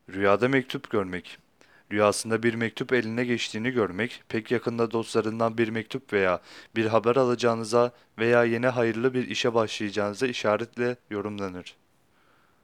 Rüyada mektup görmek. Rüyasında bir mektup eline geçtiğini görmek, pek yakında dostlarından bir mektup veya bir haber alacağınıza veya yeni hayırlı bir işe başlayacağınıza işaretle yorumlanır.